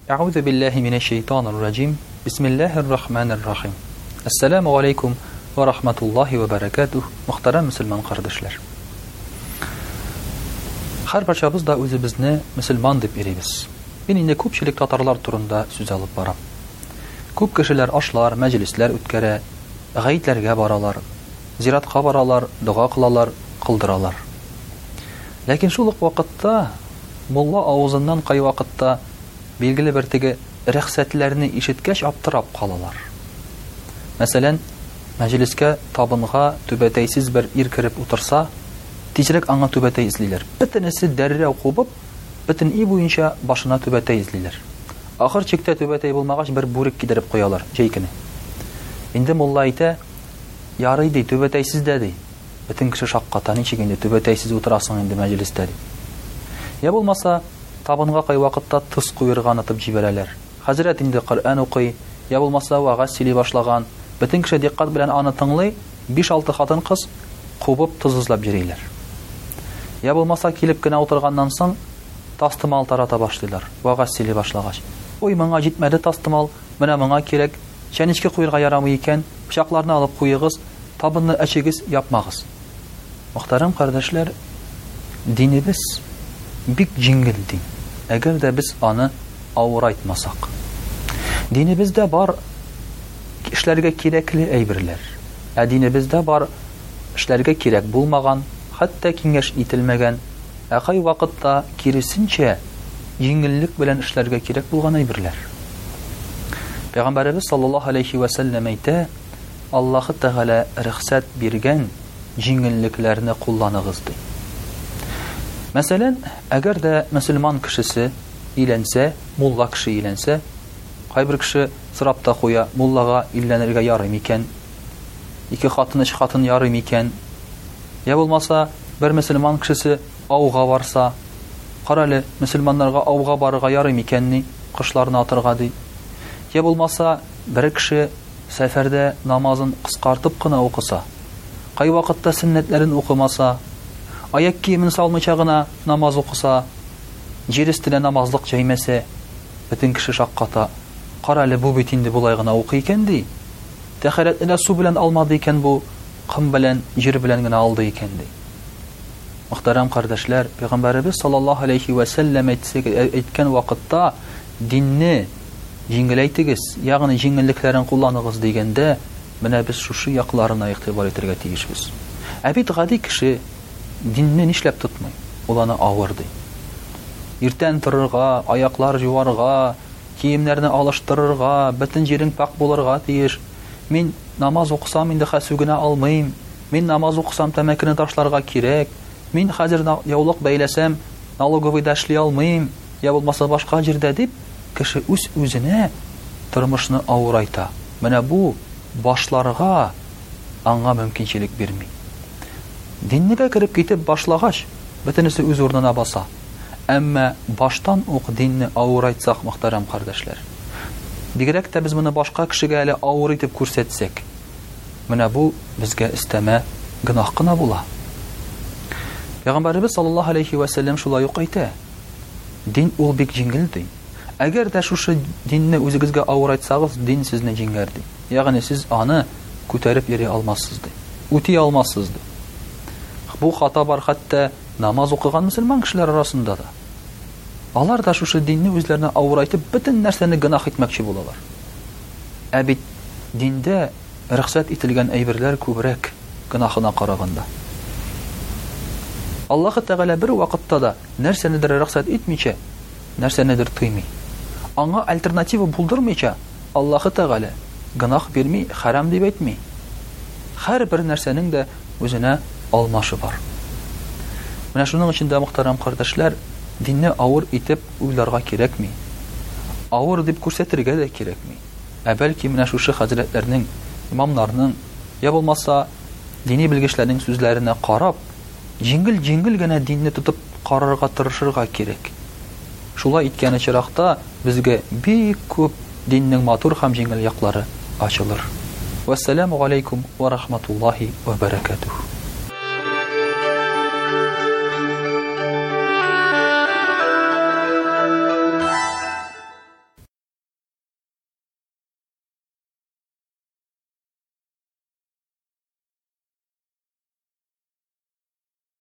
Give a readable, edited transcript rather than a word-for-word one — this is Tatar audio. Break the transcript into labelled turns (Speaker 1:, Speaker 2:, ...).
Speaker 1: Аузу биллахи минаш шайтанир раджим. Бисмиллахир рахманир рахим. Ассаламу алейкум ва рахматуллахи ва баракатух. Мөхтәрәм мөселман кардәшләр. Һәрберчәбез да үзебезне мөселман дип йөрибез. Мин инде күпчелек татарлар турында сүз алып барам. Күп кешеләр ашлар, мәҗлесләр үткәрә, гаитләргә баралар, зиратка баралар, дуга кылалар, кылдыралар. Ләкин шул ук вакытта мулла авызыннан кай вакытта билгеле бер теге рөхсәтләрне ишеткәч аптырап калалар. Мәсәлән, мәҗлескә табынга түбәтәйсез бер ир кирип утырса, тизрәк аңа түбәтәй излиләр. Бөтенесе дәррәү кубып, бөтен ий буенча башына түбәтәй излиләр. Ахыр чиктә түбәтәй булмагач бер бүрек кидереп куялар, җәйкене. Инде мулла әйтә, ярый ди, түбәтәйсез дә ди. Бөтен кеше шакката, ничек инде түбәтәйсез утырасың инде мәҗлестә ди. Я булмаса, табынга кай вакытта тыз куйырга атып җибәрәләр. Хәзрәт инде Коръән укый, я булмаса вагаз сөйли башлаган. Бөтен кеше диккать белән аны тыңлый, 5-6 хатын кыз кубып тызызлап йөриләр. Я булмаса килеп кенә утырганнан соң тастымал тарата башлыйлар. Вагаз сөйли башлагач. Ой, моңа җитмәде тастымал, менә моңа кирәк. Чәнечкә куйырга ярамый икән, пычакларны алып куйыгыз, табынны әчегез, япмагыз. Мөхтәрәм кардәшләр, динебез бик җиңел дин. Әгәр дә без аны авырайтмасак. Динебездә бар эшләргә кирәкле әйберләр. Динебездә бар эшләргә кирәк булмаган, хәтта киңәш ителмәгән, кай вакытта киресенчә җиңеллек белән эшләргә кирәк булган әйберләр. Пәйгамбәрбез саллаллаһу алейхи ва саллям әйтә, Аллаһ Тәгалә рөхсәт биргән җиңеллекләрне кулланыгыз ди. Мәсәлән, әгәр дә мөселман кешесе иләнсә, мулла кеше иләнсә, кайбер кеше сорап та куя, муллага иләнергә ярый микән? 2 хатын, 3 хатын ярый микән? Я булмаса, бер мөселман кешесе ауга барса, карале, мөселманнарга ауга барырга ярый микәнни? Кышларны атырга ди. Я булмаса, бер кеше сәфәрдә намазын кыскартып кына укыса, кай вакытта сөннәтләрен укымаса, аяк киемен салмыйча гына намаз укыса, җир өстенә намазлык җәймәсә, бөтен кеше шакката, карале, бу бит инде булай гына укый икән ди. Тәһарәтне су белән алмады икән бу, кым белән, җир белән генә алды икән ди. Мөхтәрәм кардәшләр, Пәйгамбәрбез саллаллаһу алейхи ва саллям әйткән вакытта динне җиңеләйтегез, ягъни җиңеллекләрен кулланыгыз дигәндә, менә без шушы якларына игътибар итәргә тиешбез. Бит гади кеше динне нишләп тотмый? Ул аны авыр ди. Иртән торырга, аяклар җуарга, киемнәрне алыштырырга, бөтен җирең пак булырга тиеш. Мин намаз укысам инде хәсүгенә алмыйм. Мин намаз укысам тәмәкене ташларга кирәк. Мин хәзер яулык бәйләсәм, налоговыйда эшли алмыйм. Я булмаса башка җирдә дип, кеше үз-үзенә тормышны авырайта. Менә бу башларга аңа мөмкинчелек бирми. Диннегә кирип китеп башлагач, бөтенесе үз урынына баса. Әмма баштан ук динне авырайтсак, мөхтәрәм кардәшләр, бигрәк тә без моны башка кешегә әле авыр итеп күрсәтсәк, менә бу безгә истәмә гынах кына була. Пәйгамбәрбез саллаллаһу алейхи ва саллям шулай ук әйтә. Дин ул бик җиңел ди. Әгәр дә шушы динне үзегезгә авырайтсагыз, дин сезне җиңәр ди. Ягъни сез аны күтәреп йөри алмассыз ди. Үти алмассыз ди. Бу хата бар хәтта намаз укыган мөселман кешеләр арасында да. Алар да шушы динне үзләренә авырайтып, бөтен нәрсәне гынах итмәкче булалар. Бит диндә рөхсәт ителгән әйберләр күбрәк гынахына караганда. Аллаһ Тәгалә бер вакытта да нәрсәнедер рөхсәт итмичә, нәрсәнедер тыймый. Аңа альтернатива булдырмыйча, Аллаһ Тәгалә гынах бирми, харам дип әйтми. Һәрбер нәрсәнең дә үзенә алмашы бар. Менә шуның өчен дә, мөхтәрәм кардәшләр, динне авыр итеп уйларга кирәкми. Авыр дип күрсәтергә дә кирәкми. Бәлки менә шушы хәзрәтләрнең, имамнарның, я булмаса дини белгечләрнең сүзләренә карап, җиңел генә динне тотып карарга тырышырга кирәк. Шулай иткән чиракта безгә бик күп диннең матур һәм җиңел яклары ачылыр. Вассаламу алейкум ва рахматуллахи ва баракатух.